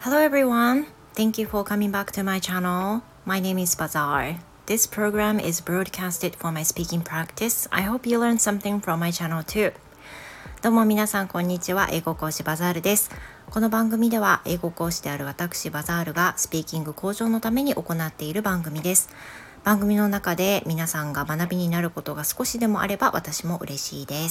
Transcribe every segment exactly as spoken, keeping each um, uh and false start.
Hello everyone. Thank you for coming back to my channel. My name is Bazaar. This program is broadcasted for my speaking practice. I hope you learned something from my channel too. どうも皆さんこんにちは。英語講師バザールです。この番組では英語講師である私バザールがスピーキング向上のために行っている番組です。番組の中で皆さんが学びになることが少しでもあれば私も嬉しいです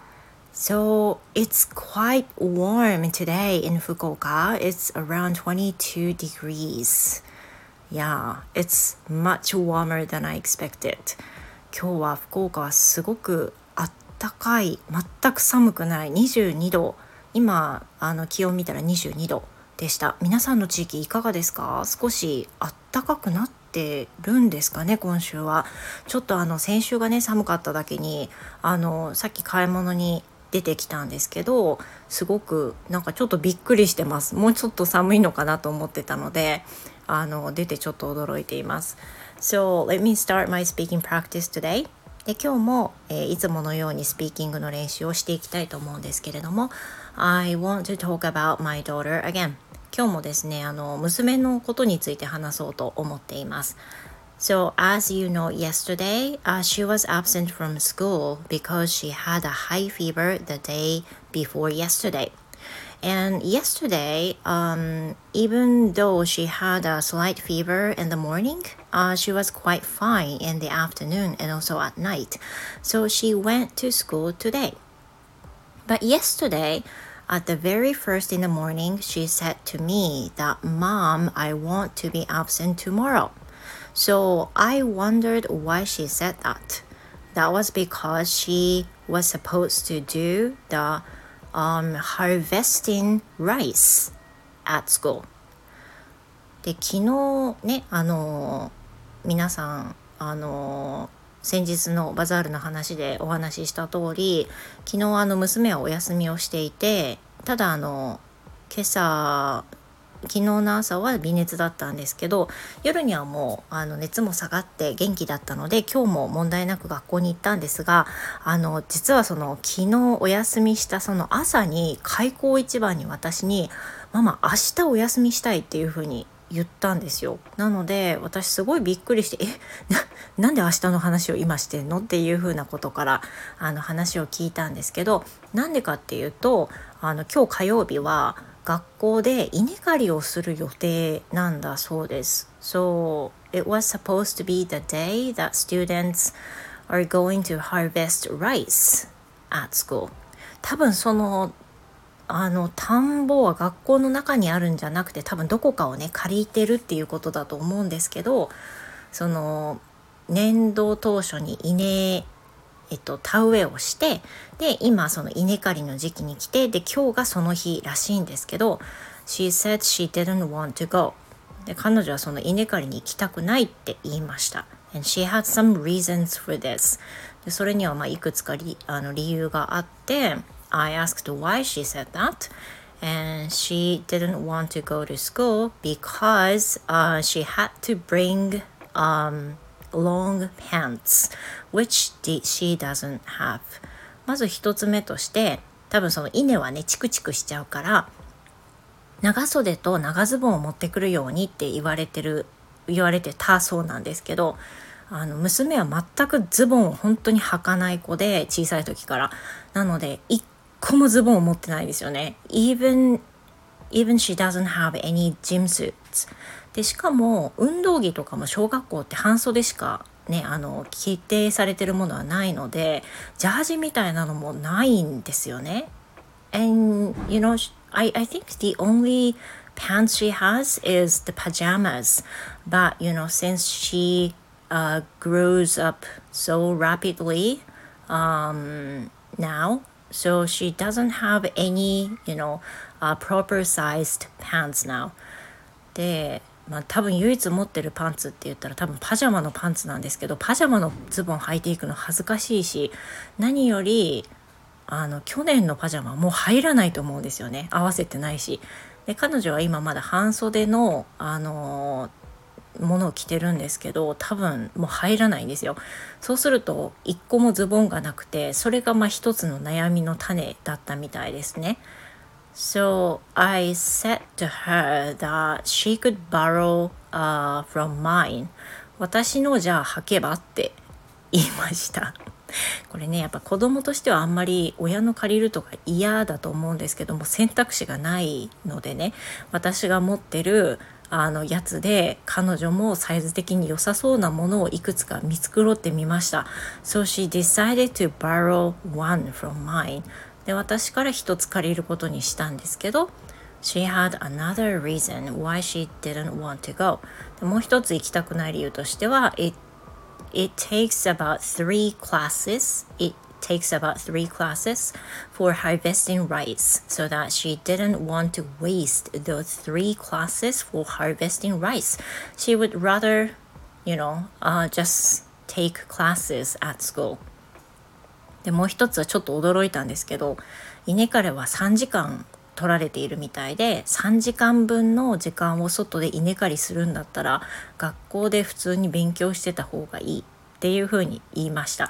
。So it's quite warm today in Fukuoka. It's around twenty-two degrees. Yeah, it's much warmer than I expected. 今日は福岡はすごくあったかい、全く寒くないにじゅうにど。今あの気温見たらにじゅうにどでした。皆さんの地域いかがですか？少しあったかくなってるんですかね。今週はちょっとあの先週がね寒かっただけにあのさっき買い物に出てきたんですけど、すごくなんかちょっとびっくりしてます。もうちょっと寒いのかなと思ってたので、あの出てちょっと驚いています。So let me start my speaking practice today. で今日も、えー、いつものようにスピーキングの練習をしていきたいと思うんですけれども、I want to talk about my daughter again. 今日もですね、あの娘のことについて話そうと思っています。So as you know, yesterday, uh, she was absent from school because she had a high fever the day before yesterday. And yesterday, um, even though she had a slight fever in the morning, uh, she was quite fine in the afternoon and also at night. So she went to school today. But yesterday, at the very first in the morning, she said to me that, Mom, I want to be absent tomorrow.So I wondered why she said that. That was because she was supposed to do the um, harvesting rice at school. で、昨日ね、あの皆さん、あの先日のバザールの話でお話しした通り、昨日あの娘はお休みをしていて、ただあの今朝昨日の朝は微熱だったんですけど、夜にはもうあの熱も下がって元気だったので、今日も問題なく学校に行ったんですが、あの実はその昨日お休みしたその朝に開口一番に私にママ明日お休みしたいっていう風に言ったんですよ。なので私すごいびっくりして、え な, なんで明日の話を今してんのっていう風なことからあの話を聞いたんですけど、なんでかっていうと、あの今日火曜日は学校で稲刈りをする予定なんだそうです。So it was supposed to be the day that students are going to harvest rice at school. 多分そのあの田んぼは学校の中にあるんじゃなくて、多分どこかをね借りてるっていうことだと思うんですけど、その年度当初に稲えっと、田植えをして、で今その稲刈りの時期に来て、で今日がその日らしいんですけど、 She said she didn't want to go. で彼女はその稲刈りに行きたくないって言いました。 And she had some reasons for this. でそれにはまあいくつか理あの理由があって、 I asked why she said that, and she didn't want to go to school because、uh, she had to bring um long pants, which she doesn't have. まず一つ目として、多分その稲はねチクチクしちゃうから長袖と長ズボンを持ってくるようにって言われてる言われてたそうなんですけど、あの娘は全くズボンを本当に履かない子で、小さい時から。なので一個もズボンを持ってないんですよね。 Even Even she doesn't have any gym suits. でしかも運動着とかも小学校って半袖しかね、あの規定されてるものはないので、ジャージみたいなのもないんですよね。And you know, I, I think the only pants she has is the pajamas. But you know, since she uh, grows up so rapidly um, now, so she doesn't have any, you know,Uh, proper sized pants now. で、まあ、多分唯一持ってるパンツって言ったら多分パジャマのパンツなんですけど、パジャマのズボン履いていくの恥ずかしいし、何よりあの去年のパジャマもう入らないと思うんですよね。合わせてないし。で彼女は今まだ半袖のあのものを着てるんですけど、多分もう入らないんですよ。そうすると一個もズボンがなくて、それがまあ一つの悩みの種だったみたいですね。 So I said to her that she could borrow、uh, from mine. 私のじゃあ履けばって言いました。これねやっぱ子供としてはあんまり親の借りるとか嫌だと思うんですけども、選択肢がないのでね、私が持ってるあのやつで彼女もサイズ的に良さそうなものをいくつか見繕ってみました。 So she decided to borrow one from mine. で私から一つ借りることにしたんですけど、 She had another reason why she didn't want to go. でもう一つ行きたくない理由としては、 It It takes about three classes. It takes about three classes for harvesting rice, so that she didn't want to waste those three classes for harvesting rice. She would rather, you know, uh, just take classes at school. でもう一つはちょっと驚いたんですけど、稲刈りはさんじかん取られているみたいで、さんじかんぶんの時間を外で稲刈りするんだったら学校で普通に勉強してた方がいいっていうふうに言いました。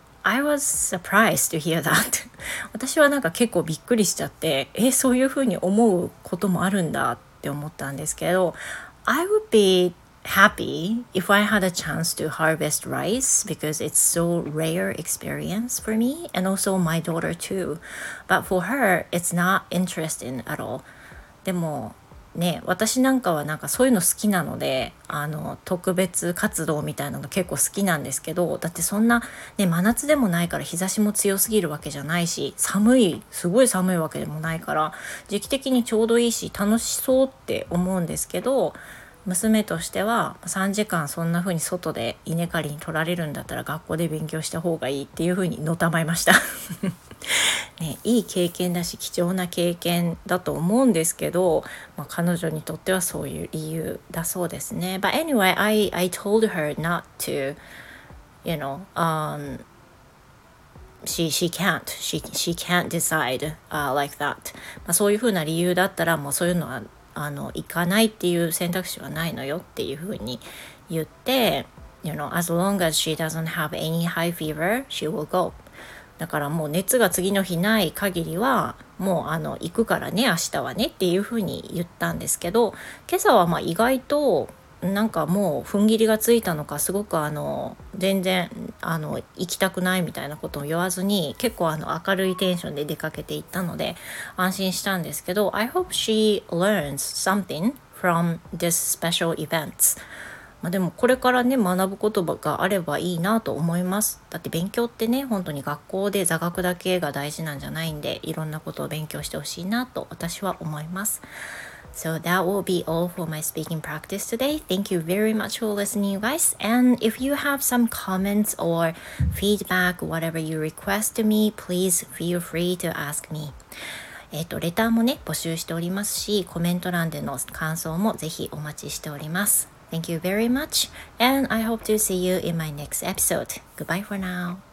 I was surprised to hear that. 私はなんか結構びっくりしちゃって、えそういうふうに思うこともあるんだって思ったんですけど、 I would be happy if I had a chance to harvest rice because it's so rare experience for me and also my daughter too. But for her, it's not interesting at all. でもね、私なんかはなんかそういうの好きなので、あの特別活動みたいなの結構好きなんですけど、だってそんなね真夏でもないから日差しも強すぎるわけじゃないし、寒いすごい寒いわけでもないから時期的にちょうどいいし楽しそうって思うんですけど、娘としてはさんじかんそんな風に外で稲刈りに取られるんだったら学校で勉強した方がいいっていう風にのたまいましたね、いい経験だし貴重な経験だと思うんですけど、まあ、彼女にとってはそういう理由だそうですね。 But anyway, I, I told her not to, you know, um, she, she can't she, she can't decide、uh, like that、まあ、そういう風な理由だったらもうそういうのはあの行かないっていう選択肢はないのよっていう風に言って、You know, as long as she doesn't have any high fever, she will go. だからもう熱が次の日ない限りはもうあの行くからね明日はねっていう風に言ったんですけど、今朝はまあ意外となんかもう踏ん切りがついたのか、すごくあの全然あの行きたくないみたいなことを言わずに結構あの明るいテンションで出かけていったので安心したんですけど、 I hope she learns something from this special events。まあ、でもこれからね学ぶことがあればいいなと思います。だって勉強ってね本当に学校で座学だけが大事なんじゃないんで、いろんなことを勉強してほしいなと私は思います。So that will be all for my speaking practice today. Thank you very much for listening, you guys. And if you have some comments or feedback, whatever you request to me, please feel free to ask me. えっと、レターもね募集しておりますし、コメント欄での感想もぜひお待ちしております。Thank you very much, and I hope to see you in my next episode. Goodbye for now.